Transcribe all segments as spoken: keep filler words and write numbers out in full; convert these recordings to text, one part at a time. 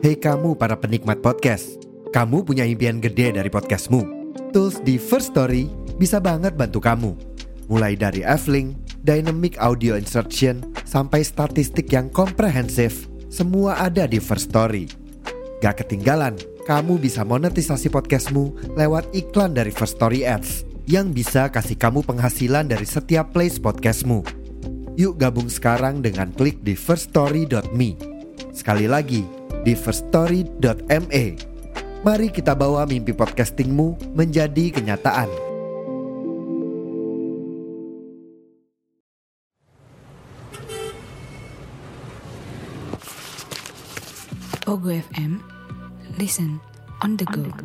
Hei kamu para penikmat podcast, kamu punya impian gede dari podcastmu. Tools di First Story bisa banget bantu kamu. Mulai dari F-Link, Dynamic Audio Insertion, sampai statistik yang komprehensif, semua ada di First Story. Gak ketinggalan, kamu bisa monetisasi podcastmu lewat iklan dari First Story Ads yang bisa kasih kamu penghasilan dari setiap plays podcastmu. Yuk gabung sekarang dengan klik di first story dot me. Sekali lagi, di first story dot me. Mari kita bawa mimpi podcastingmu menjadi kenyataan. Pogo F M, listen on the go.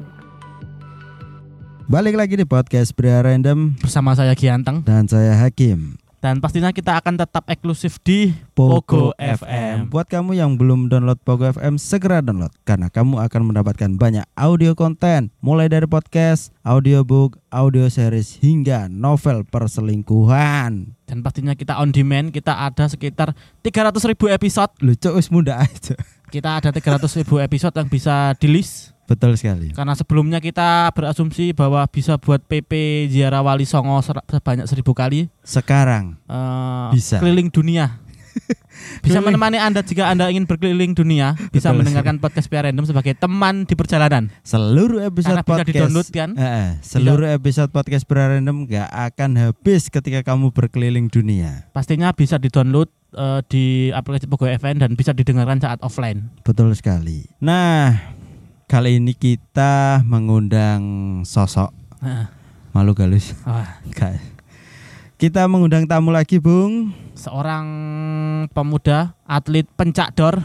Balik lagi di podcast Pria Random bersama saya Gianteng dan saya Hakim. Dan pastinya kita akan tetap eksklusif di Pogo, Pogo F M. F M. Buat kamu yang belum download Pogo F M, segera download karena kamu akan mendapatkan banyak audio konten, mulai dari podcast, audiobook, audio series hingga novel perselingkuhan. Dan pastinya kita on demand, kita ada sekitar tiga ratus ribu episode. Lucu wis muda aja. Kita ada tiga ratus ribu episode yang bisa di-list. Betul sekali. Karena sebelumnya kita berasumsi bahwa bisa buat P P Ziarah Wali Songo sebanyak seribu kali. Sekarang uh, bisa keliling dunia. Bisa menemani Anda jika Anda ingin berkeliling dunia. Bisa Betul. mendengarkan podcast Pria Random sebagai teman di perjalanan. Seluruh episode Karena bisa podcast di-download kan? eh, Seluruh episode podcast Pria Random gak akan habis ketika kamu berkeliling dunia. Pastinya bisa di-download uh, di aplikasi Pogo F M dan bisa didengarkan saat offline. Betul sekali. Nah, kali ini kita mengundang sosok Nah, malu galus. wah, Gak. Kita mengundang tamu lagi, Bung. seorang pemuda atlet pencak dor.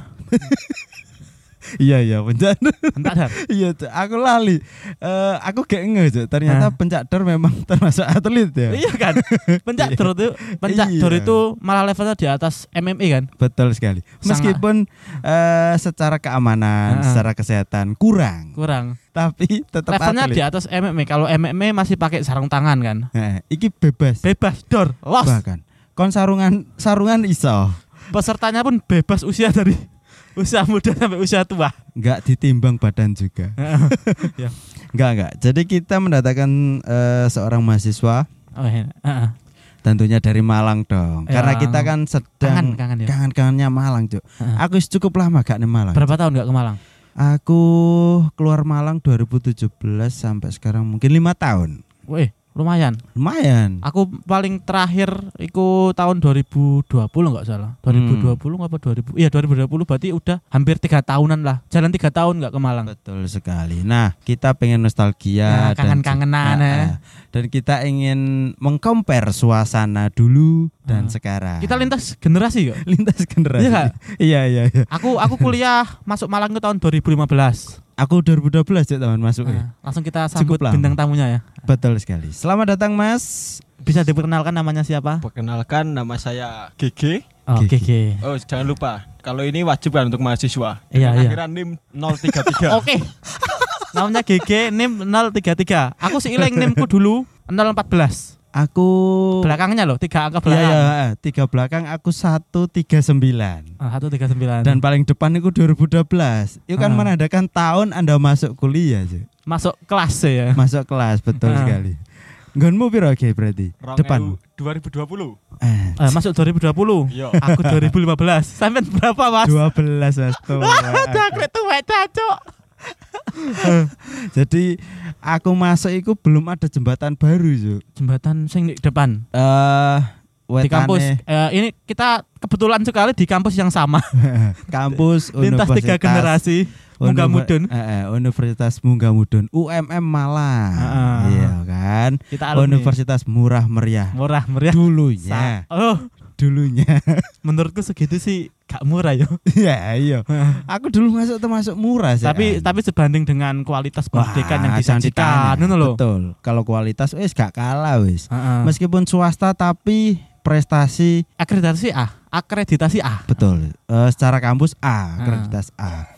Iya iya pencak dor. Pencak dor. Iya, Cuk. Aku lali. Eh, aku gak nge, Cuk. Ternyata Hah? pencak dor memang termasuk atlet ya. Iya kan? Pencak dor itu pencak Iya. dor itu malah levelnya di atas M M A kan? Betul sekali. Meskipun eh, secara keamanan, Ah. secara kesehatan kurang, Kurang. tapi tetap Levelnya atlet. di atas M M A. Kalau M M A masih pakai sarung tangan kan? Nah, iki bebas. Bebas dor, los. Bahkan kon sarungan sarungan iso. Pesertanya pun bebas usia dari usia muda sampai usia tua. Enggak ditimbang badan juga. Ya. Enggak enggak. Jadi kita mendatangkan eh, seorang mahasiswa, Oh, iya. Heeh. tentunya dari Malang dong. Ya. Karena kita kan sedang Kangen, kangen ya. kangen-kangennya Malang, Cuk. Heeh. Aku cukup lama gak nih Malang. Berapa tahun nggak ke Malang? Aku keluar Malang dua ribu tujuh belas sampai sekarang mungkin lima tahun. Wih, lumayan. Lumayan. Aku paling terakhir iku tahun dua ribu dua puluh enggak salah. dua ribu dua puluh apa dua ribu? Iya, dua ribu dua puluh berarti udah hampir tiga tahunan lah. Jalan tiga tahun enggak ke Malang. Betul sekali. Nah, kita pengen nostalgia Nah, kangen-kangenan, dan, ya. Nah, dan kita ingin mengcompare suasana dulu dan Ah. sekarang. Kita lintas generasi kok. lintas generasi. Iya nggak? Iya iya iya. Aku aku kuliah masuk Malang itu tahun dua ribu lima belas. Aku dua ribu dua belas ya teman masuk. Nah, langsung kita sambut Cukup lama. bintang tamunya ya. Betul sekali. Selamat datang Mas. Bisa diperkenalkan namanya siapa? Perkenalkan, nama saya G G. Oh, G G. G G. Oh, jangan lupa, kalau ini wajib kan untuk mahasiswa. Iya, Dengan iya. akhiran NIM nol tiga tiga. Oke. Namanya G G, NIM nol tiga tiga. Aku seiling NIMku dulu nol empat belas. Aku Belakangnya loh, tiga angka Iya belakang. ya, tiga belakang aku satu tiga sembilan. Ah, satu tiga sembilan. Dan paling depan itu dua ribu dua belas. Itu kan Ah. menandakan tahun Anda masuk kuliah, Cuk. masuk kelas ya. Masuk kelas, betul Ah. sekali. Nggonmu piro Ge berarti? Depan. dua ribu dua puluh. Eh, Eh, masuk dua ribu dua puluh. Iya. Aku dua ribu lima belas. Sampai berapa, Mas? dua belas Mas tuh. Aku tuwek cacok. Jadi aku masuk itu belum ada jembatan baru, Cuk. Jembatan sing di depan Eh di kampus. wetane Eh, ini kita kebetulan sekali di kampus yang sama. kampus Lintas tiga Universitas generasi. Munggah Univer- Mudun. eh, eh, Universitas Munggah Mudun U M M Malang. Ah. Iya kan? Kita alumni. Universitas murah meriah. Murah meriah. Dulunya. Sa- oh, Dulunya. menurutku segitu sih gak murah yo. Iya, iya. Aku dulu masuk termasuk murah sih. tapi tapi sebanding dengan kualitas pendidikan yang Wah, jangan disajikan, ditanya. ngono lho. Betul. Kalau kualitas wis gak kalah wis. Heeh. Meskipun swasta tapi prestasi Akreditasi A, akreditasi A. betul. Eh, secara kampus A, Ah. akreditas A.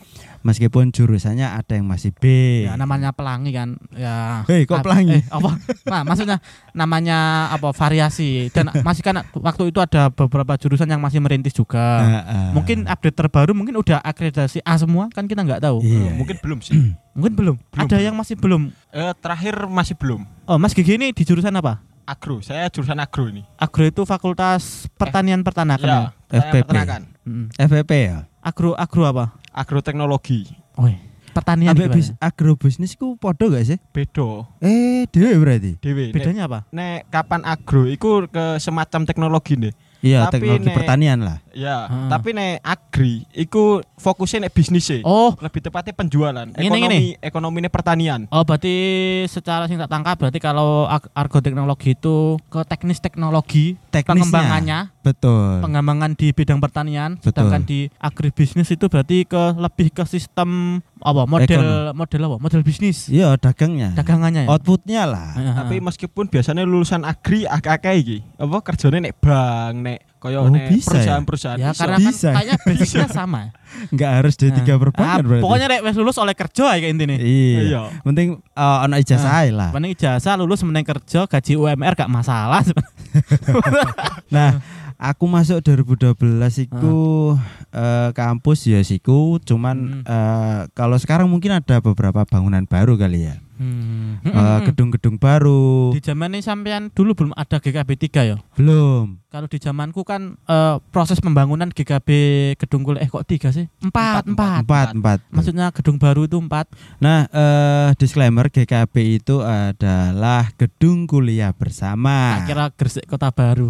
Meskipun jurusannya ada yang masih B. Ya namanya pelangi kan. Ya. Hei, kok Ah, pelangi? Eh, apa? Nah, maksudnya namanya apa variasi dan masih kan waktu itu ada beberapa jurusan yang masih merintis juga. Heeh. Mungkin update terbaru mungkin udah akreditasi A semua kan kita nggak tahu. Iya. Mungkin belum sih. Mungkin belum. Belum, Ada belum. yang masih belum. Eh, terakhir masih belum. Oh, Mas Gigi ini di jurusan apa? Agro, saya jurusan agro ini. Agro itu Fakultas Pertanian Peternakan. Ya, Ya? F P P. saya peternakan. Mm. F P P ya. Agro agro apa? Agroteknologi. Oh, pertanian Ambek gimana? bis, agrobisnis ku podo gak sih? Bedo. Eh, dhewe berarti. Dewe. Bedanya apa? Nek, nek kapan agro iku ke semacam teknologi nih. Iya, Tapi teknologi nek- pertanian lah. Ya, Ah. tapi nek agri iku fokusnya nek bisnis e. Oh, Lebih tepatnya penjualan. Ngene, Ekonomi ngene. ekonomi ini pertanian. oh berarti secara sing tak tangkap berarti kalau ag- argoteknologi itu ke teknis teknologi, Teknisnya. pengembangannya, Betul. pengembangan di bidang pertanian, Betul. sedangkan di agribisnis itu berarti ke lebih ke sistem apa? Model model apa? Model bisnis. Iya, dagangnya. Dagangannya ya. Outputnya lah. Heeh. Tapi meskipun biasanya lulusan agri akeh-akeh iki, apa kerjane nek bank, nek koyo Oh, nek bisa ya? perusahaan-perusahaan. ya iso. karena kan Bisa. kayaknya basicnya sama. Enggak harus D tiga Nah, perbankan ah, berarti. pokoknya nek wis lulus oleh kerja ya kayak intinya. Iya. Iya. Penting uh, ono ijazah ae lah. Paling ijazah lulus meneng kerja gaji U M R gak masalah. Nah, aku masuk dua ribu dua belas iku eh, kampus ya siku, cuman Hmm. eh, kalau sekarang mungkin ada beberapa bangunan baru kali ya. Hmm. Eh, gedung-gedung baru. Di zaman ini sampean dulu belum ada G K B tiga ya? Belum. Kalau di zamanku kan eh, proses pembangunan G K B gedung kuliah eh kok tiga sih? Empat, empat. Empat, empat. Maksudnya gedung baru itu empat. Nah, eh, disclaimer G K B itu adalah gedung kuliah bersama. Tak kira Gresik Kota Baru.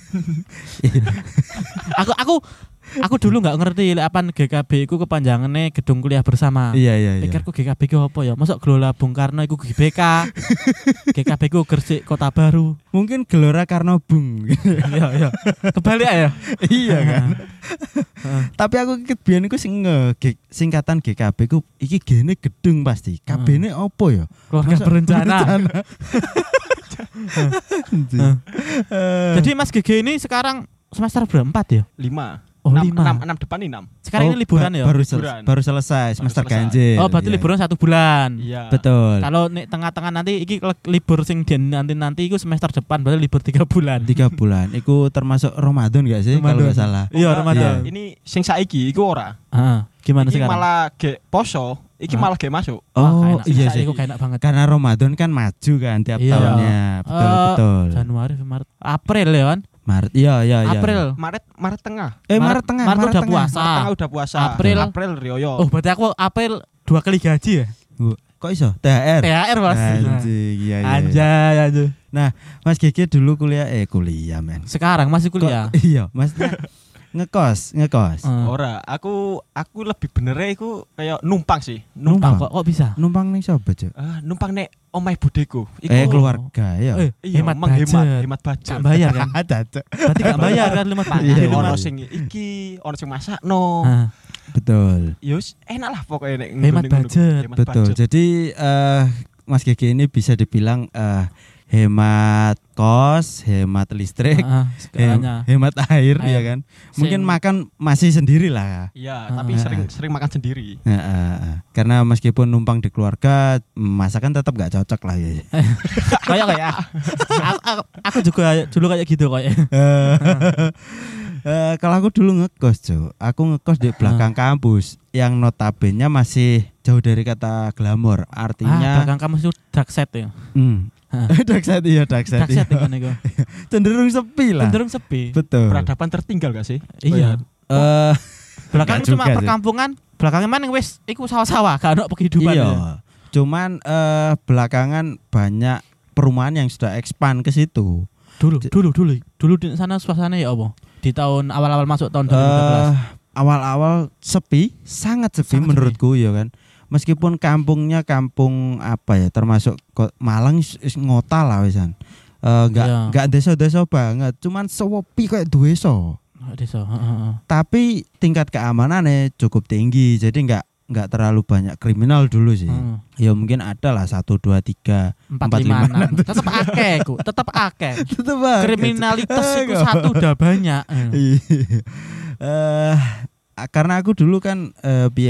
aku aku aku dulu nggak ngerti lek apaan G K B itu kepanjangannya gedung kuliah bersama. Iya, iya, iya. Pikirku G K B itu apa ya? Masuk Gelora Bung Karno itu G B K. G K B itu Gresik Kota Baru. Mungkin Gelora Karno Bung. Iya, iya. Kebalik ya. Iya kan. Tapi aku ikut biyen iku sing nge G- singkatan G K B ku iki gene gedung pasti. K B-ne opo ya? Keluarga Masa berencana. Eh, Jadi Mas Gigi ini sekarang semester berempat ya? lima. Oh, enam, lima. enam, enam depan enam. Sekarang oh, ini liburan ba- ya? Baru, sel- Liburan. baru selesai semester selesai. ganjil. Oh, berarti Iya. liburan satu bulan. Iya. Betul. Kalau nih tengah-tengah nanti iki le- libur sing nanti nanti itu semester depan berarti libur tiga bulan. Tiga bulan. Iku termasuk Ramadan gak sih kalau Ramadan. nggak salah? Iya, Oh, Ramadan. Ini sing saiki iku ora. Ah, gimana Iki sekarang? malah ge poso, iki Hah? malah ge masuk. Wah, Oh, kayak enak. iya Saya sih. iku kayak enak banget. Karena Ramadan kan maju kan tiap Iya. tahunnya. Betul, Eh, betul. Januari, Maret, April ya kan? Maret. Iya, iya, iya. April. Maret Maret tengah. Eh, Maret- Maret tengah. Maret udah tengah. puasa. Maret tengah udah puasa. April. April rioyo. Oh, berarti aku April dua kali gaji ya? Bu, kok iso? T H R. T H R, Mas. Anjing, iya, iya. Anjay, anjay. Mas Gigi dulu kuliah eh kuliah men. Sekarang masih kuliah. Kok- iya, maksudnya ngekos, ngekos. Eh, Ora, aku aku lebih bener iku kayak numpang sih. Numpang. kok kok bisa? Numpang ning sapa, Cuk? Ah, numpang nek omahe budeku. Iku Eh keluarga ya. Eh, iya, hemat menghemat, budget. hemat budget. Gak bayar kan? Ada, Cuk. Berarti gak bayar kan lima Pak, Iya, juta. iya. ono sing iki, ono sing masakno. Ah, Betul. Yus, enak lah pokoknya nek Hemat ngene-ngene. budget. Hemat Betul. budget. Jadi eh Mas Gigi ini bisa dibilang eh hemat kos, hemat listrik, ah, ah, hem- segalanya. hemat air, Air. ya kan. Mungkin Sing- makan masih sendiri lah. Iya, Ah, tapi ah, sering ah. sering makan sendiri. Nah, eh, eh. Karena meskipun numpang di keluarga, masakan tetap gak cocok lah ya. Kayak kayak aku, aku, aku juga dulu kayak gitu kayak. Eh, kalau aku dulu ngekos, Cuk. Aku ngekos di belakang kampus yang notabene masih jauh dari kata glamor. Ah, Artinya belakang kamu itu dark set ya. hmm. Hah. dark set iya, dark set. Dark set iya. kan itu. Cenderung sepi lah. Cenderung sepi. Betul. Peradaban tertinggal gak sih? Iya. Eh, Belakang Nggak cuma juga sih. perkampungan, belakangnya mana wis iku sawah-sawah, gak ada kehidupan. iya. ya. Cuman eh, belakangan banyak perumahan yang sudah expand ke situ. Dulu, dulu, dulu. Dulu di sana suasana ya apa? Di tahun awal-awal masuk tahun dua ribu tiga belas. Eh, awal-awal sepi, sangat sepi Sangat menurutku ya kan. Meskipun kampungnya kampung apa ya, termasuk ko- Malang is- is ngota lah wisan. Eh, Enggak Iya. enggak desa-desa banget, cuman sepi kayak desa. Oh, desa, heeh, heeh. Tapi tingkat keamanannya cukup tinggi, jadi enggak enggak terlalu banyak kriminal dulu sih. Heeh. Ya mungkin ada lah satu dua tiga Empat lima enam. Tetap akeh ku, tetap akeh. Tetep banget. Kriminalitas Eh, itu kok. satu udah banyak. Eh. Iya. Eh, karena aku dulu kan eh piye ya?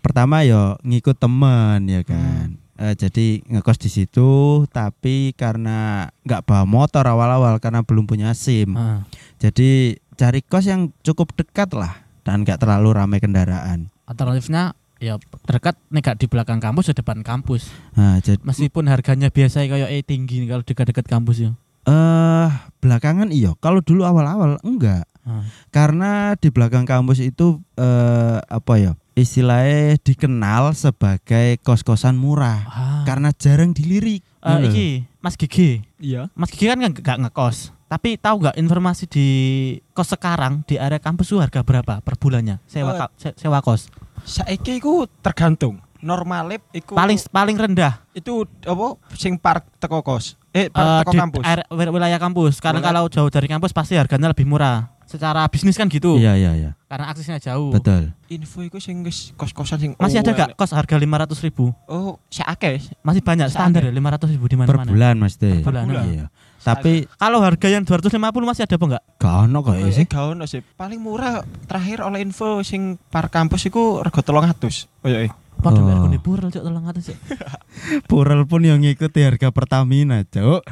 pertama yo ngikut temen ya kan. Hmm. Uh, jadi ngekos di situ, tapi karena nggak bawa motor awal-awal karena belum punya SIM. Hmm. Jadi cari kos yang cukup dekat lah dan nggak terlalu ramai kendaraan. Alternatifnya ya dekat nih gak di belakang kampus, di depan kampus. Nah, jadi meskipun harganya biasa kayak eh tinggi nih kalau dekat-dekat kampus ya. Eh uh, belakangan iyo, kalau dulu awal-awal enggak. Hmm. Karena di belakang kampus itu uh, apa ya? Istilahnya dikenal sebagai kos-kosan murah. Ah. Karena jarang dilirik. Uh, iki Mas Gigi. Iya. Mas Gigi kan gak ngekos. Tapi tahu nggak informasi di kos sekarang di area kampus itu harga berapa per bulannya sewa uh, ka, sewa kos? Saiki iku tergantung. Normalip iku paling paling rendah itu apa sing park teko kos. Eh park uh, teko di kampus. Area, wilayah kampus. Karena Boleh. Kalau jauh dari kampus pasti harganya lebih murah. Secara bisnis kan gitu. Iya iya iya. Karena aksesnya jauh. Betul. Info iku sing kos-kosan sing masih ada gak kos harga lima ratus ribu? Oh, sakake. Masih banyak standar ya lima ratus ribu di mana-mana. Per bulan Mas De. Per bulan. Iya. Tapi kalau harga yang dua ratus lima puluh masih ada apa enggak? Gak ono kok sih. Gak ono sih. Paling murah terakhir oleh info sing par kampus iku rega tiga ratus. Oh iya. Padahal oh. Aku di Purel cok tiga ratus cok. Purel pun yang ngikuti harga Pertamina cok.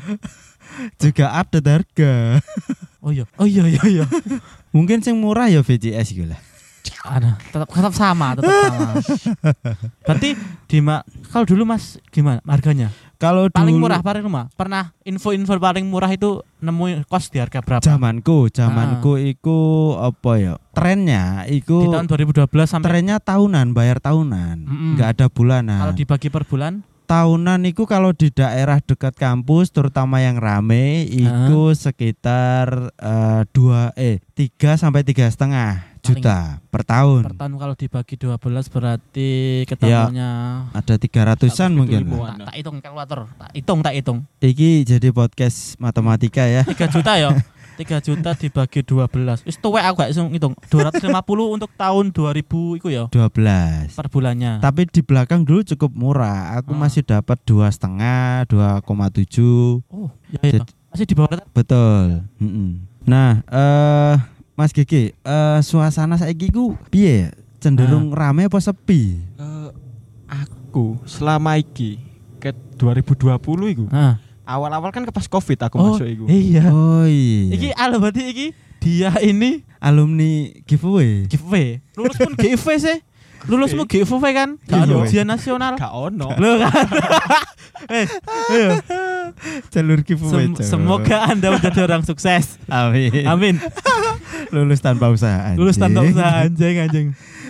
Juga update harga. Oh iya. Oh iya iya iya. Mungkin sing murah ya V J S gitu lah. Ada, tetap tetap sama, tetap sama. Berarti di ma- kalau dulu Mas gimana harganya? Kalau paling dulu, murah paling rumah. Pernah info-info paling murah itu nemu kos di harga berapa? Zamanku, zamanku ah. Iku apa ya? Trennya iku di tahun dua ribu dua belas sampai trennya tahunan, bayar tahunan. Enggak ada bulanan. Kalau dibagi per bulan? Tahunan itu kalau di daerah dekat kampus terutama yang rame itu uh. sekitar uh, dua eh tiga sampai tiga setengah juta per tahun. Per tahun kalau dibagi dua belas berarti ketemunya ya, ada tiga ratusan mungkin. Tak, tak hitung kalkulator, tak hitung tak hitung. Iki jadi podcast matematika ya. tiga juta ya. tiga juta dibagi dua belas. Wis tuwek aku gak iso ngitung. dua ratus lima puluh untuk tahun dua ribu iku ya. dua belas per bulannya. Tapi di belakang dulu cukup murah. Aku hmm. masih dapat dua setengah, dua koma tujuh. Oh, ya, ya. Masih di bawah. Betul. Mm-mm. Nah, eh uh, Mas Gigi, uh, suasana saiki ku piye? Cenderung nah. rame apa sepi? Uh, aku selama iki ke dua ribu dua puluh iku. Nah. Awal-awal kan ke pas Covid aku oh, masuk iku. Iya. Oh iya. Iki alo berarti iki dia ini alumni giveaway. Giveaway. Lulus pun giveaway sih. Lulusmu giveaway kan? Gak ada ujian nasional. Gak ono. Loh kan. Eh, ayo. Jalur giveaway. Sem- semoga Anda menjadi orang sukses. Amin. Amin. Lulus tanpa usaha anjing. Lulus tanpa usaha anjing anjing.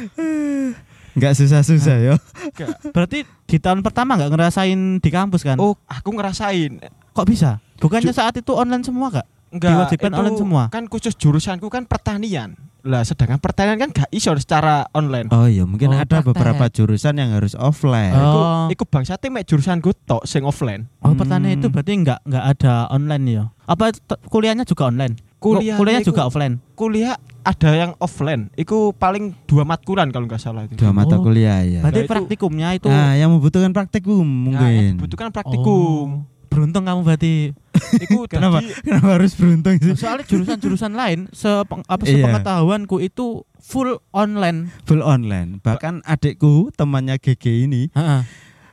Enggak susah-susah yo. Berarti di tahun pertama enggak ngerasain di kampus kan? Oh, aku ngerasain. Kok bisa? Bukannya Ju- saat itu online semua gak? Enggak, diwajibkan online semua. Kan khusus jurusanku kan pertanian. Lah sedangkan pertanian kan gak iso secara online. Oh iya, mungkin oh, ada praktek. beberapa jurusan yang harus offline. Oh. Iku, iku bangsate mek jurusanku tok sing offline. Oh, pertanian hmm. itu berarti enggak enggak ada online ya? Apa t- kuliahnya juga online? Kuliah kuliahnya juga offline. Kuliah ada yang offline. Iku paling dua matkulan kalau enggak salah itu. Dua mata oh. kuliah ya. Berarti nah, praktikumnya itu. Nah, yang membutuhkan praktikum mungkin. Nah, membutuhkan praktikum. Oh. Beruntung kamu berarti. Iku kenapa? tadi, kenapa harus beruntung sih? Soalnya jurusan-jurusan lain sepeng, apa sepengetahuanku itu full online. Full online. Bahkan adikku temannya G G ini Ha-ha.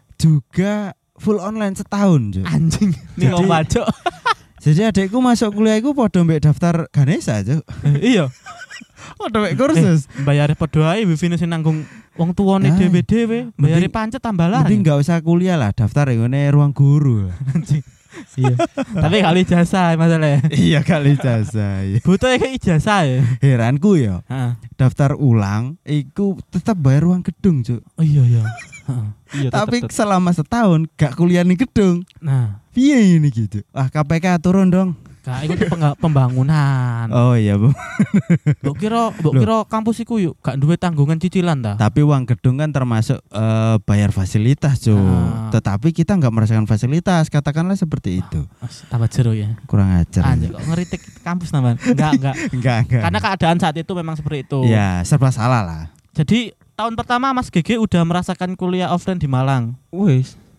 juga full online setahun. Jo. Anjing. Nih om baco. Jadi adikku masuk kuliah iku padha mbek daftar Ganesha, Cuk. Iya. Padha mbek kursus. Eh, bayare padha ae wifi sing nanggung wong tuane nah, dhewe-dhewe. Bayare pancet tambah lah. Mending enggak usah kuliah lah, daftar ngene ruang guru. Anjing. Iya. Tapi kali ijazah masalahnya. Iya kali ijazah. Iya. Butuh kayak ijazah ya. Heranku ya. Heeh. Daftar ulang iku tetap bayar ruang gedung, Cuk. Oh iya iya. iya Tapi tetep, tetep. selama setahun gak kuliah ning gedung. Nah, piye ini gitu? Ah K P K turun dong. Kak, itu peng- pembangunan. Oh iya, Bu. Mbok kira, mbok kira kampus iku yuk gak duwe tanggungan cicilan ta? Tapi uang gedung kan termasuk uh, bayar fasilitas, Cuk. Ah. Tetapi kita enggak merasakan fasilitas, katakanlah seperti itu. Mas, tambah jero ya. Kurang ajar. Anjir kok ngeritik kampus namanya. Enggak, enggak. enggak, enggak. Karena keadaan saat itu memang seperti itu. Ya, serba salah lah. Jadi tahun pertama Mas G G udah merasakan kuliah offline di Malang. Wes,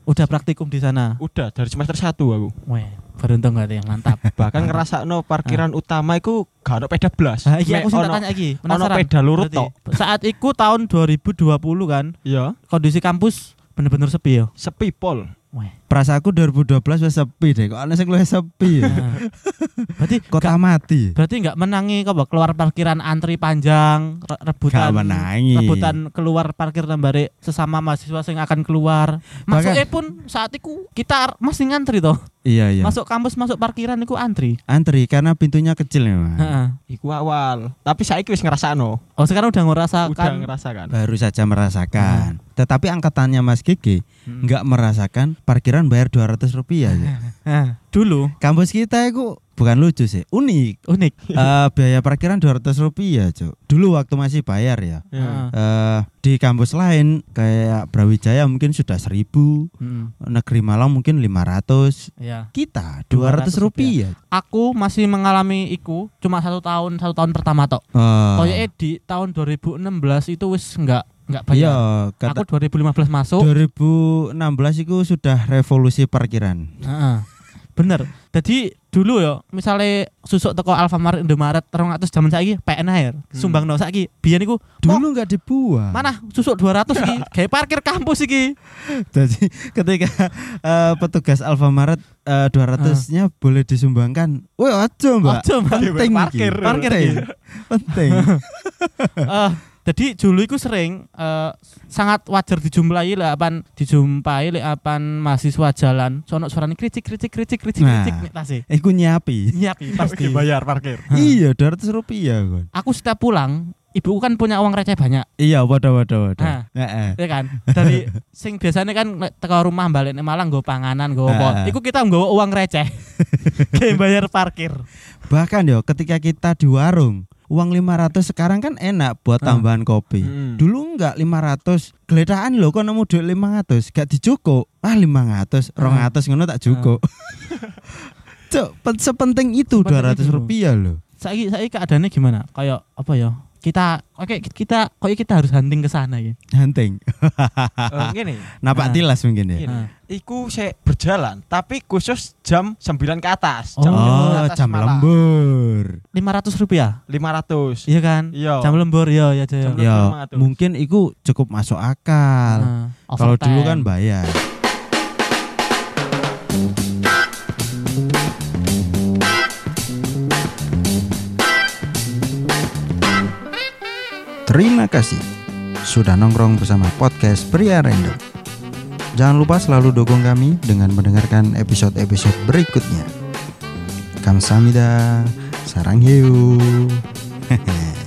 Udah praktikum di sana. Udah dari semester satu aku. Weh, beruntung gak yang mantap. Bahkan ngerasakno parkiran utama iku gak ono peda blas. Ah, iya Mek aku sih tak ono- tanya iki. Ono Penasaran. peda lurut Berarti, tok. Saat iku tahun dua ribu dua puluh kan, Iya, kondisi kampus bener-bener sepi yo. sepi pol. Weh. Perasaanku dua ribu dua belas wis sepi deh. Kok ana sing luwih sepi ya. Nah. Berarti Kota mati. Berarti nggak menangi kok keluar parkiran antri panjang re- rebutan Gak menangi. rebutan keluar parkir nambare sesama mahasiswa yang akan keluar. Masuknya pun saat itu kita masih ngantri toh. Iya iya. Masuk kampus masuk parkiran itu antri. Antri karena pintunya kecil ya, Mas. Heeh. Iku awal. Tapi saiki wis ngrasakno. Oh sekarang udah ngerasakan. Udah ngerasakan. Baru saja merasakan. Tetapi angkatannya Mas Gigi Hmm. nggak merasakan parkiran bayar dua ratus rupiah ya. Nah, dulu Kampus kita itu bukan lucu sih, unik. unik. Eh, biaya parkiran dua ratus rupiah, Cuk. Dulu waktu masih bayar ya. Heeh. Eh, di kampus lain kayak Brawijaya mungkin sudah seribu, Hmm. Negeri Malang mungkin lima ratus. Ya. Kita dua ratus rupiah. Aku masih mengalami iku cuma satu tahun satu tahun pertama tok. Oh. Kayaknya di tahun dua ribu enam belas itu wis enggak enggak Iya, bayar. kata Aku dua ribu lima belas masuk. dua ribu enam belas itu sudah revolusi parkiran. Heeh. Bener. Jadi dulu ya, misalnya susuk teko Alfamart Indomaret rong atus jaman saiki P N air sumbangno saiki. Biyen iku Dulu nggak dibuang. mana susuk dua ratus iki, gawe parkir kampus iki. Jadi ketika eh, petugas Alfamaret eh, dua ratus-nya boleh disumbangkan. Woi, aja, Mbak. Aja, Mbak. Penting Parkir. iki. Parkir Penting. Penting. Eh, jadi dulu iku sering eh, sangat wajar dijumpai lek apan dijumpai lek apan mahasiswa jalan sono suarane kricik kricik kricik kricik Nah. kricik nek tase. Iku nyiapi. Nyiapi pasti. bayar parkir. Iya, dua ratus rupiah kon. Aku setiap pulang, ibuku kan punya uang receh banyak. Iya, waduh waduh waduh. Nah. Heeh. Ya kan dari sing biasanya kan nek teko rumah balik nek Malang nggo panganan nggo apa Ah. iku kita nggawa uang receh kayak bayar parkir. Bahkan yo ketika kita di warung, uang lima ratus sekarang kan enak buat Ah. tambahan kopi. Hmm. Dulu enggak lima ratus, geledakan lho kok nemu duit lima ratus, gak dicukuk. Ah lima ratus, dua ratus ngono tak cukuk. Cuk, pen- sepenting itu Sepenting dua ratus itu. rupiah loh. Saiki saiki keadaannya gimana? Kayak apa ya? Kita oke kita kok kita harus hunting ke sana ya. Hunting. Eh, ngene. Napak Ah. tilas mungkin ya. Gini, Ah. iku sik berjalan, tapi khusus jam sembilan ke atas. Oh. Jam Oh, sembilan ke atas jam malam. lembur. lima ratus rupiah. lima ratus. Iya kan? Iya. Jam lembur ya ya Jaya. Jam Ya, lima ratus. mungkin itu cukup masuk akal. Nah, Kalau overtime. dulu kan bayar. Terima kasih sudah nongkrong bersama podcast Pria Random. Jangan lupa selalu dukung kami dengan mendengarkan episode-episode berikutnya. Kamsahamnida, sarang hiu.